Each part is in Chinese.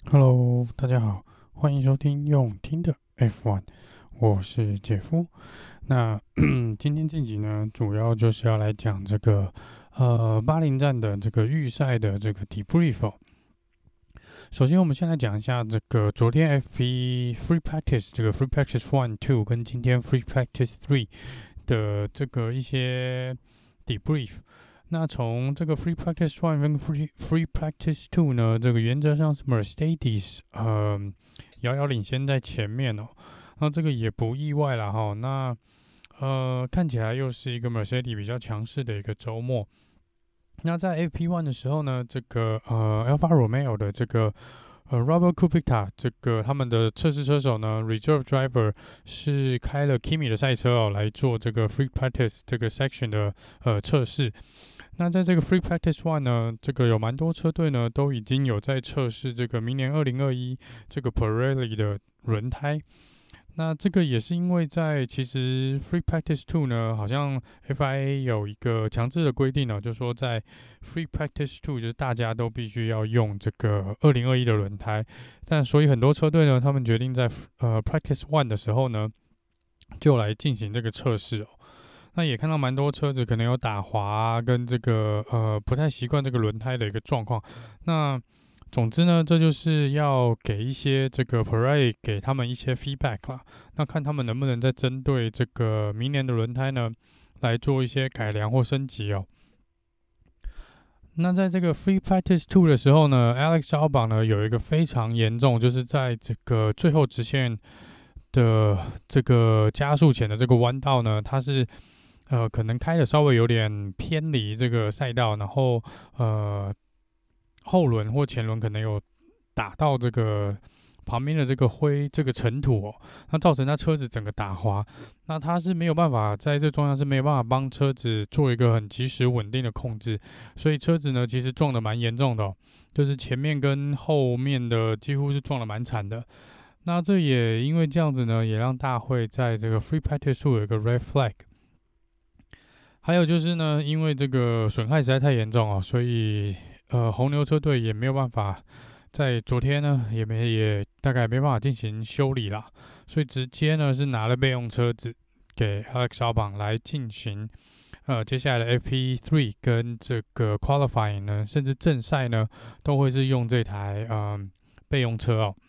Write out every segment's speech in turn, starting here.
Hello，大家好，歡迎收聽用聽的 F1，我是傑夫。那今天這集呢，主要就是要來講這個巴林站的這個預賽的這個 debrief。首先，我們先來講一下這個昨天 F1 Free Practice 這個 Free Practice 1、2跟今天 Free Practice 3的這個一些 debrief。那從這個 Free Practice 1跟 Free Practice 2呢，這個原則上是 Mercedes 遙遙領先在前面哦。那這個也不意外啦哈。那看起來又是一個 Mercedes 比較強勢的一個週末。那在 FP1 的時候呢，這個Alfa Romeo 的這個Robert Kubica 這個他們的測試車手呢 ，Reserve Driver 是開了 Kimi 的賽車哦，來做這個 Free Practice 這個 section 的測試。那在這個 Free Practice 1呢，這個有蠻多車隊呢都已經有在測試這個明年2021這個 Pirelli 的輪胎。那這個也是因為在其實 Free Practice 2呢，好像 FIA 有一個強制的規定呢，就是說在 Free Practice 2就是大家都必須要用這個2021的輪胎。但所以很多車隊呢，他們決定在Practice 1的時候呢，就來進行這個測試哦。那也看到蠻多車子可能有打滑跟這個不太習慣這個輪胎的一個狀況。那總之呢，這就是要給一些這個 Pirelli 給他們一些 feedback 啦。那看他們能不能再針對這個明年的輪胎呢，來做一些改良或升級哦。那在這個 Free Practice 2的時候呢 ，Alex Albon 呢有一個非常嚴重，就是在這個最後直線的這個加速前的這個彎道呢，它是可能開的稍微有點偏離這個賽道，然後後輪或前輪可能有打到這個旁邊的這個這個塵土哦，那造成他車子整個打滑。那他是沒有辦法在這狀況是沒有辦法幫車子做一個很及時穩定的控制，所以車子呢其實撞得蠻嚴重的哦，就是前面跟後面的幾乎是撞得蠻慘的。那這也因為這樣子呢，也讓大會在這個 Free Practice 2有一個 Red Flag。還有就是呢，因為這個損害實在太嚴重哦，所以紅牛車隊也沒有辦法在昨天呢，也大概沒辦法進行修理啦，所以直接呢是拿了備用車子給 Alex Albon 來進行接下來的 FP3 跟這個 Qualifying 呢，甚至正賽呢都會是用這台備用車哦。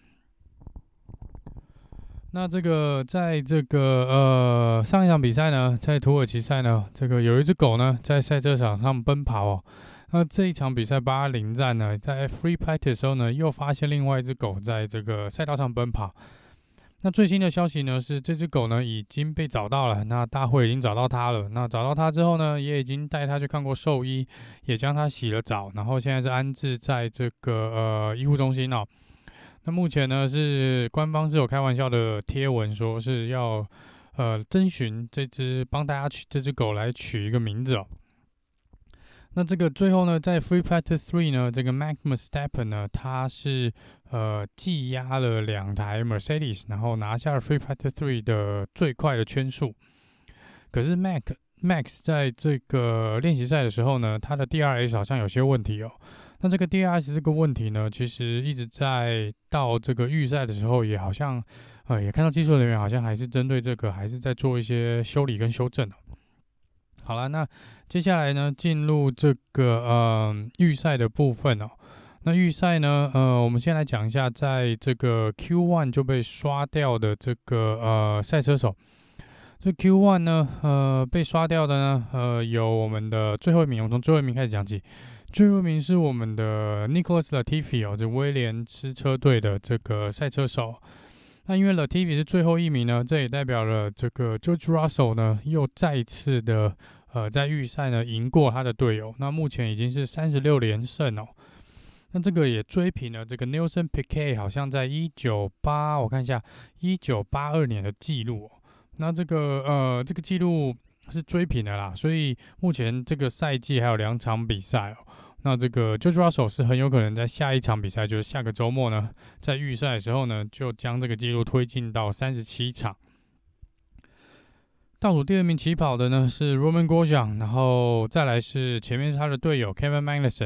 那這個在這個上一場比賽呢，在土耳其賽呢，這個有一隻狗呢在賽車場上奔跑哦。那這一場比賽巴林站呢，在 Free Practice 的時候呢，又發現另外一隻狗在這個賽道上奔跑。那最新的消息呢是，這隻狗呢已經被找到了，那大會已經找到它了。那找到它之後呢，也已經帶它去看過獸醫，也將它洗了澡，然後現在是安置在這個醫護中心哦。那目前呢是官方是有開玩笑的貼文，說是要徵詢幫大家這隻狗來取一個名字哦。那這個最後呢，在 Free Practice 3呢，這個 Max Verstappen 呢，他是技壓了2台 Mercedes， 然後拿下了 Free Practice 3的最快的圈數。可是 Max 在這個練習賽的時候呢，他的 DRS 好像有些問題哦。那這個 DRS 這個問題呢，其實一直在到這個預賽的時候，也好像也看到技術人員好像還是針對這個，還是在做一些修理跟修正哦。好了，那接下來呢，進入這個預賽的部分哦。那預賽呢，我們先來講一下，在這個 Q1 就被刷掉的這個賽車手。這 Q1 呢，被刷掉的呢，有我們的最後一名，我們從最後一名開始講起。最後一名是我們的 Nicholas Latifi 哦，這威廉斯車隊的這個賽車手。那因為 Latifi 是最後一名呢，這也代表了這個 George Russell 呢又再一次的在預賽呢贏過他的隊友。那目前已經是36連勝哦。那這個也追平了這個 Nelson Piquet 好像在我看一下1982年的記錄哦。那這個記錄是追平了啦，所以目前這個賽季還有2場比賽哦。那這個 George Russell 是很有可能在下一場比賽，就是下個周末呢，在預賽的時候呢，就將這個記錄推進到37場。倒數第2名起跑的呢是 Romain Grosjean，然後再來是前面是他的隊友 Kevin Magnussen。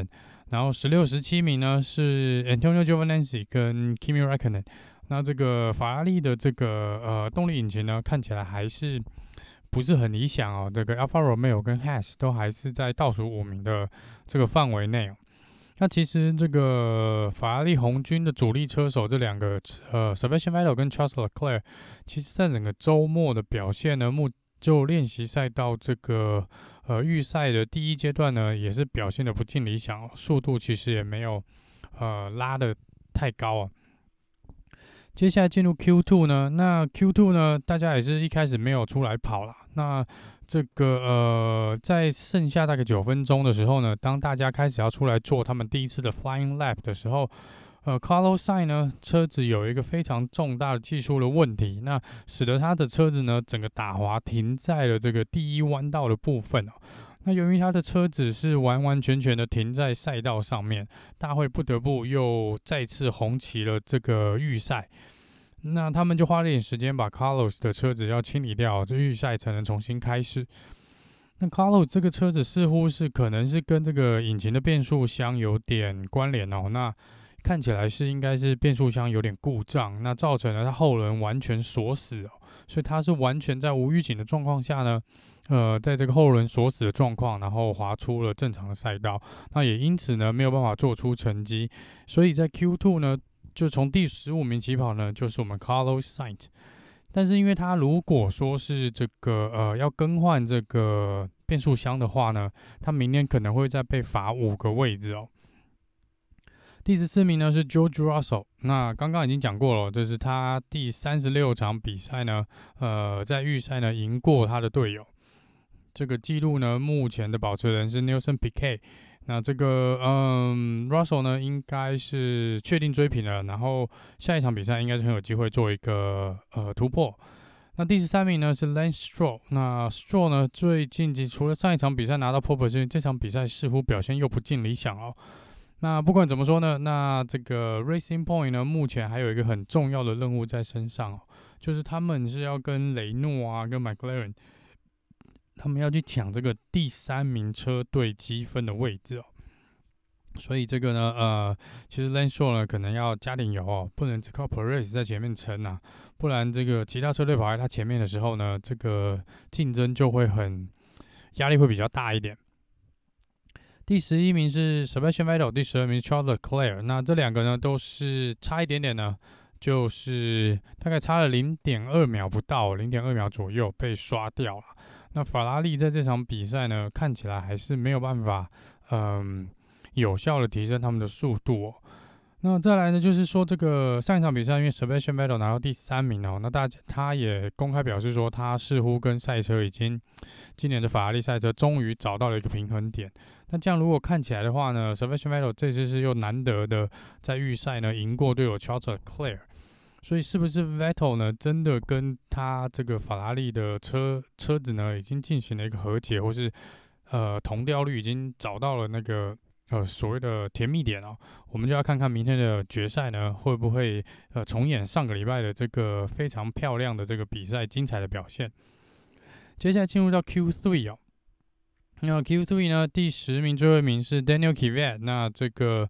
然後16、17名呢是 Antonio Giovinazzi 跟 Kimi Räikkönen。那這個法拉利的這個動力引擎呢，看起來還是不是很理想哦。這個 Alfa Romeo 跟 Haas 都還是在倒數5名的這個範圍內哦。那其實這個法拉利紅軍的主力車手這兩個Sebastian Vettel 跟 Charles Leclerc， 其實在整個週末的表現呢，就練習賽到這個預賽的第一階段呢，也是表現得不盡理想哦，速度其實也沒有拉得太高啊。接下來進入 Q2 呢，那 Q2 呢，大家也是一開始沒有出來跑啦。那這個在剩下大概9分鐘的時候呢，當大家開始要出來做他們第一次的 Flying Lap 的時候，Carlos Sainz 呢車子有一個非常重大的技術的問題，那使得他的車子呢整個打滑停在了這個第一彎道的部分哦。那由於他的車子是完完全全的停在賽道上面，大會不得不又再次紅旗了這個預賽。那他們就花了點時間把 Carlos 的車子要清理掉，這預賽才能重新開始。那 Carlos 這個車子似乎是可能是跟這個引擎的變速箱有點關聯哦。那看起來是應該是變速箱有點故障，那造成了他後輪完全鎖死哦，所以他是完全在無預警的狀況下呢，在這個後輪鎖死的狀況，然後滑出了正常的賽道，那也因此呢沒有辦法做出成績，所以在 Q2 呢，就從第15名起跑呢，就是我們 Carlos Sainz。但是因為他如果說是這個要更換這個變速箱的話呢，他明年可能會再被罰5個位置哦。第14名呢是 George Russell， 那剛剛已經講過了，這是他第36場比賽呢，在預賽呢贏過他的隊友。這個記錄呢，目前的保持人是 Nelson Piquet。那這個Russell 呢，應該是確定追平了，然後下一場比賽應該是很有機會做一個突破。那第13名呢是 Lance Stroll。那 Stroll 呢，最近除了上一場比賽拿到 pole position， 這場比賽似乎表現又不盡理想哦。那不管怎麼說呢，那這個 Racing Point 呢，目前還有一個很重要的任務在身上哦，就是他們是要跟雷諾啊，跟 McLaren， 他們要去搶這個第3名車隊積分的位置哦。所以這個呢，其實 Lance Stroll 呢可能要加點油哦，不能只靠 Perez 在前面撐啊，不然這個其他車隊跑在他前面的時候呢，這個競爭就會壓力會比較大一點。第11名是 Sebastian Vettel， 第12名是 Charles Leclerc。那這兩個呢都是差一點點呢，就是大概差了 0.2 秒不到，0.2 秒左右被刷掉了。那法拉利在這場比賽呢，看起來還是沒有辦法，有效的提升他們的速度哦。那再來呢，就是說這個上一場比賽，因為 Sebastian Vettel 拿到第3名哦，那他也公開表示說，他似乎跟賽車已經今年的法拉利賽車終於找到了一個平衡點。那這樣如果看起來的話呢， Sebastian Vettel 這次是又難得的在預賽呢贏過隊友 Charles Leclerc， 所以是不是 Vettel 呢真的跟他這個法拉利的車子呢已經進行了一個和解，或是同調率已經找到了那個所謂的甜蜜點哦？我們就要看看明天的決賽呢會不會重演上個禮拜的這個非常漂亮的這個比賽精彩的表現。接下來進入到 Q3 哦。那 Q3 呢，第10名最後一名是 Daniel Kvyat。那這個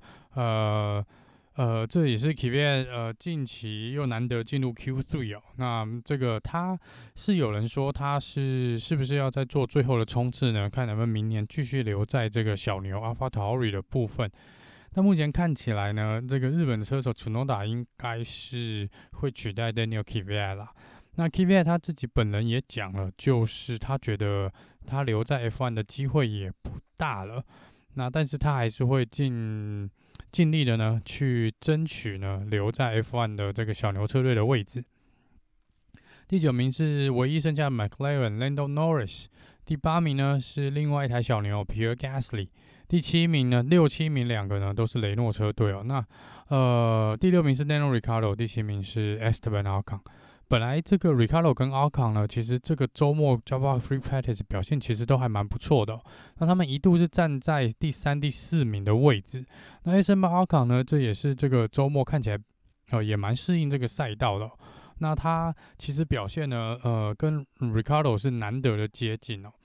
這也是 Kvyat 近期又難得進入 Q3 哦。那這個他是有人說他是不是要再做最後的衝刺呢？看能不能明年繼續留在這個小牛 AlphaTauri 的部分。那目前看起來呢，這個日本的車手 Tsunoda 應該是會取代 Daniel Kvyat 啦。那 Kvyat 他自己本人也講了，就是他覺得他留在 F1 的機會也不大了。那但是他還是會盡力的呢，去爭取呢留在 F1 的這個小牛車隊的位置。第9名是唯一剩下的 McLaren Lando Norris。第8名呢是另外一台小牛 Pierre Gasly。第7名呢，6、7名兩個呢都是雷諾車隊哦。那第6名是 Daniel Ricciardo， 第7名是 Esteban Ocon。本來這個 Ricciardo 跟 Ocon 呢，其實這個週末 Java Free Practice 表現其實都還蠻不錯的哦。那他們一度是站在第3、第4名的位置。那 Esteban Ocon 呢，這也是這個週末看起來也蠻適應這個賽道的哦。那他其實表現呢，跟 Ricciardo 是難得的接近哦。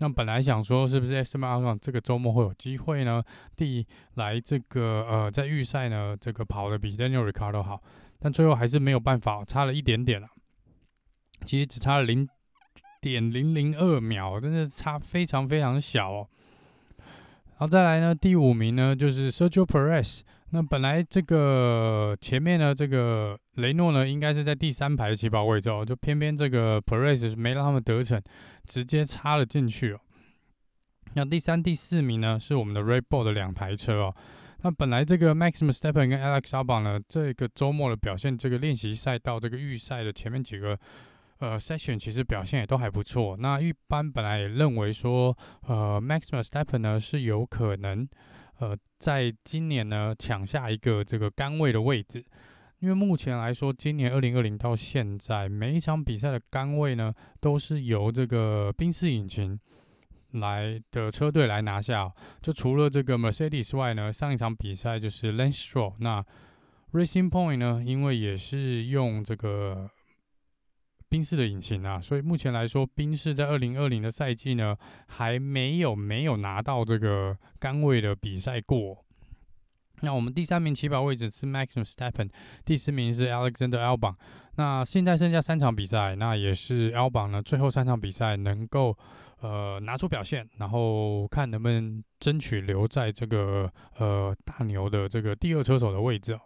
那本來想說是不是 Esteban Ocon 這個週末會有機會呢？來這個在預賽呢這個跑得比 Daniel Ricciardo 好，但最後還是沒有辦法，差了一點點了。其實只差了0.002秒，真的差非常非常小哦。好，再來呢，第5名呢就是 Sergio Perez。那本來這個前面呢，這個雷諾呢應該是在第3排的起跑位置哦，就偏偏這個 Perez 沒讓他們得逞，直接插了進去哦。那第3、第4名呢是我們的 Red Bull 的2台車哦。那本來這個 Max Verstappen 跟 Alex Albon 呢，這個週末的表現，這個練習賽到這個預賽的前面幾個session 其實表現也都還不錯。那一般本來也認為說Max Verstappen 呢是有可能在今年呢搶下一個這個桿位的位置，因為目前來說，今年2020到現在每一場比賽的桿位呢都是由這個賓士引擎來的車隊來拿下哦。就除了這個 Mercedes 外呢，上一場比賽就是 Lance Stroll。那 Racing Point 呢，因為也是用這個賓士的引擎啊，所以目前來說，賓士在2020的賽季呢，還沒有拿到這個桿位的比賽過。那我們第3名起跑位置是 Max Verstappen， 第4名是 Alexander Albon。那現在剩下3場比賽，那也是 Albon 呢最後3場比賽能夠拿出表現，然後看能不能爭取留在這個大牛的這個第2車手的位置哦。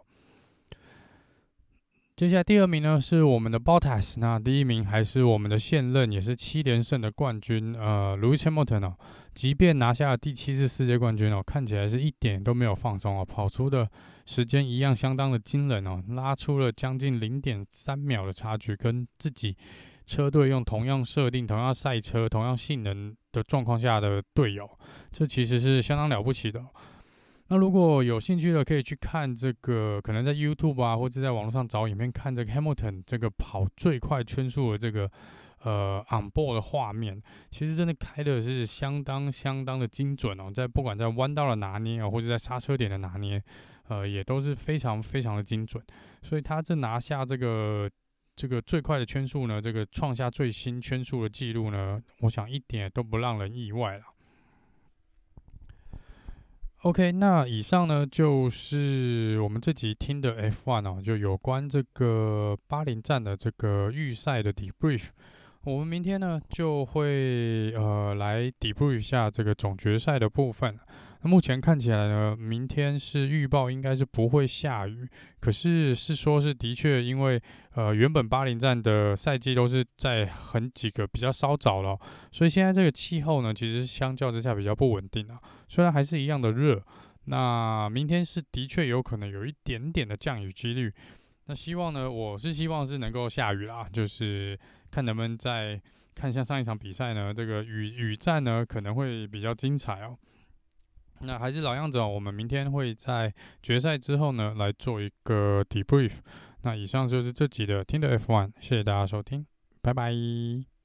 接下來第2名呢是我們的 Bottas， 那第1名還是我們的現任也是7連勝的冠軍Lewis Hamilton 哦，即便拿下了第7次世界冠軍哦，看起來是一點都沒有放鬆哦，跑出的時間一樣相當的驚人哦，拉出了將近0.3秒的差距，跟自己車隊用同樣設定、同樣賽車、同樣性能的狀況下的隊友，這其實是相當了不起的哦。那如果有興趣的，可以去看這個，可能在 YouTube 啊，或者在網絡上找影片看這個 Hamilton 這個跑最快圈速的這個on board 的畫面，其實真的開的是相當的精準哦，在不管在彎道的拿捏啊，或者在剎車點的拿捏，也都是非常的精準。所以他這拿下這個最快的圈速呢，這個創下最新圈速的記錄呢，我想一點都不讓人意外了。OK， 那以上呢就是我們這集聽的 F1 哦，就有關這個巴林站的這個預賽的 debrief。我們明天呢就會來 debrief 一下這個總決賽的部分。那目前看起來呢，明天是預報應該是不會下雨，可是說是的確，因為原本巴林站的賽季都是在幾個比較稍早了，所以現在這個氣候呢其實是相較之下比較不穩定啊。雖然還是一樣的熱，那明天是的確有可能有一點點的降雨幾率。那我是希望是能夠下雨啦，就是看能不能再看像上一場比賽呢，這個雨戰呢可能會比較精彩哦。那還是老樣子哦，我們明天會在決賽之後呢來做一個 debrief。那以上就是這集的聽的 F1，謝謝大家收聽，拜拜。